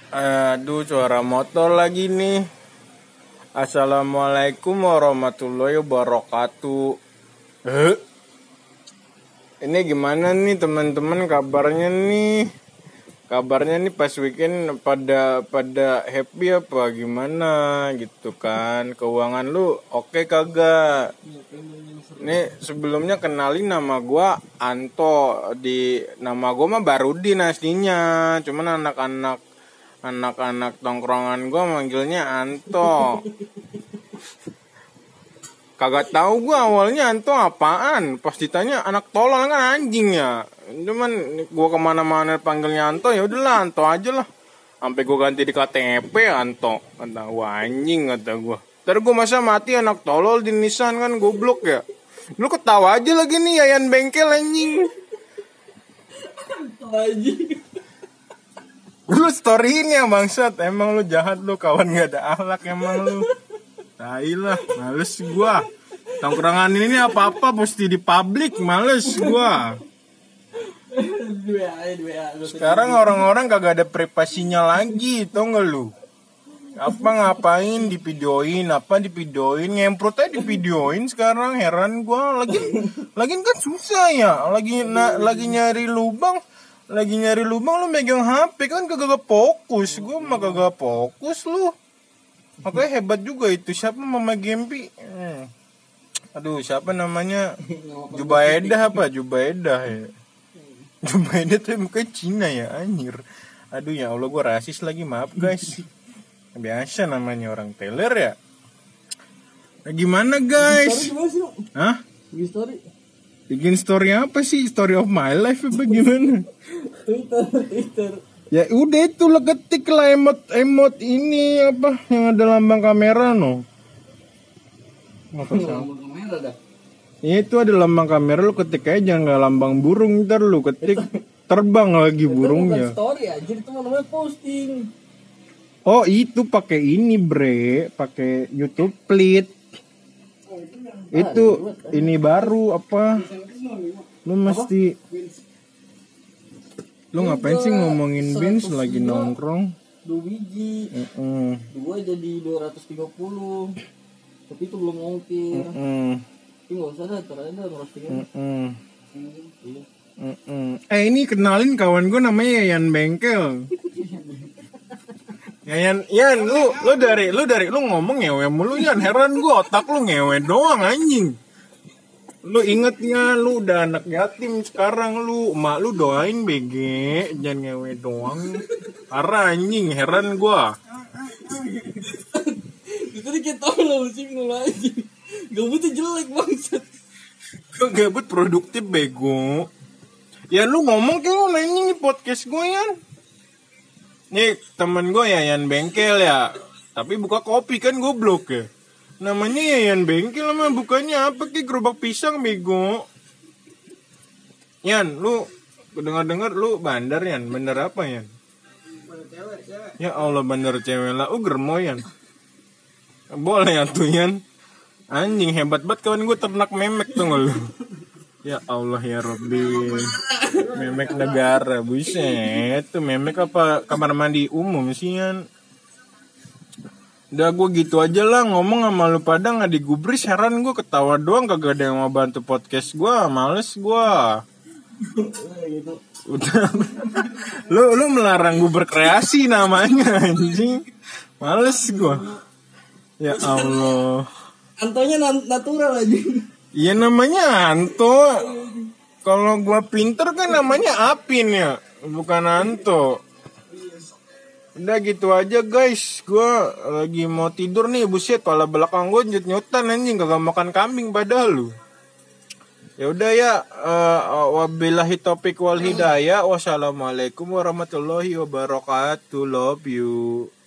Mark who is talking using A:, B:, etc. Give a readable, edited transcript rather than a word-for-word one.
A: Aduh, suara motor lagi nih. Assalamualaikum warahmatullahi wabarakatuh. Eh, Ini gimana nih teman-teman kabarnya nih? Kabarnya nih pas weekend pada happy apa gimana gitu kan? Keuangan lu oke kagak? Nih sebelumnya kenalin nama gua Anto. Nama gua mah Barudin aslinya. Cuman anak-anak tongkrongan gua manggilnya Anto. Kagak tahu gue awalnya Anto apaan. Pas ditanya anak tolol kan anjing ya. Cuman gue kemana-mana panggilnya Anto, ya udahlah Anto aja lah. Sampai gue ganti di KTP Anto. Kata wah anjing kata gue. Ntar gue masa mati anak tolol di Nissan kan goblok ya. Lu ketawa aja lagi nih Yayan Bengkel anjing. Lu storyin ya bangsat. Emang lu jahat lu, kawan gak ada akhlak emang lu. Tai lah, males gua. Tongkrongan ini apa-apa mesti di publik, males gua. Sekarang orang-orang kagak ada privasinya lagi, tau gak lu? Ngapain divideoin, ngemprot aja divideoin sekarang, heran gua. Lagi kan susah ya, lagi nyari lubang lu megang HP kan kagak fokus. Gua mah kagak fokus lu. Makanya hebat juga itu. Siapa Mama Gempi? Aduh, siapa namanya? Jubaedah ya. Jubaedah tuh mukanya Cina ya, anjir. Aduh ya Allah, gue rasis lagi, maaf guys. Biasa namanya orang teler ya. Nah, gimana guys? Hah? Bikin story apa sih? Story of my life apa gimana? Twitter. Ya udah itu lo ketik lah emot ini apa yang ada lambang kamera no. Lambang kamera dah. Itu ada lambang kamera, lu ketik aja, jangan nggak lambang burung, ntar lu ketik terbang lagi burungnya.
B: Story aja itu namanya posting.
A: Oh itu pakai ini pakai YouTube Plit. Itu ini baru apa? Lu mesti lu ngapain sih ngomongin Bins lagi nongkrong?
B: 2 biji. 2 jadi 230. Tapi itu belum ongkir. Tapi enggak usah dah, ntar aja ngerostingnya.
A: Ini kenalin kawan gue namanya Yayan Bengkel. Yan, lu ngomong ngewe mulu Yan, heran gue, otak lu ngewe doang anjing. Lu ingetnya lu udah anak yatim sekarang lu, emak lu doain BG, jangan ngewe doang. Parah anjing, heran gua.
B: Itu dikit tolong sih lu aja. Gabutnya jelek bangsat.
A: Kok gabut produktif bego. Ya lu ngomong kayak lu nanya nih podcast gue Yan. Nih temen gue Yayan Bengkel ya. Tapi buka kopi kan goblok ya. Namanya Yayan Bengkel mah bukannya apa ki gerobak pisang bego. Yan, lu dengar lu bandar Yan, bandar apa Yan? Ya Allah bandar cewek lah, germo Yan. Boleh ya tuh Yan. Anjing hebat banget kawan gue, ternak memek tuh nggak lu? Ya Allah ya Robbi. Memek negara, buset. Tuh memek apa kamar mandi umum sih Yan? Udah gue gitu aja lah, ngomong sama lu pada gak digubris, heran gue ketawa doang, kagak ada yang mau bantu podcast gue, males gue. Udah. lu melarang gue berkreasi namanya anjing. Males gue. Ya Allah.
B: Antonya natural aja.
A: Iya namanya Anto. Kalau gue pinter kan namanya Apin ya, bukan Anto. Udah gitu aja guys, gue lagi mau tidur nih, buset, kepala belakang gue nyut-nyutan anjing, kagak makan kambing padahal lu. Ya udah ya, wabillahi taufiq wal hidayah, wassalamualaikum warahmatullahi wabarakatuh, love you.